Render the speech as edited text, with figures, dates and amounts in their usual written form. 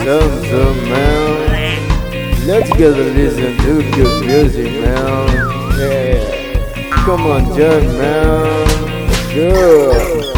something, man. Let's get a listen to good music, man. Yeah. Come on, John, man. Good.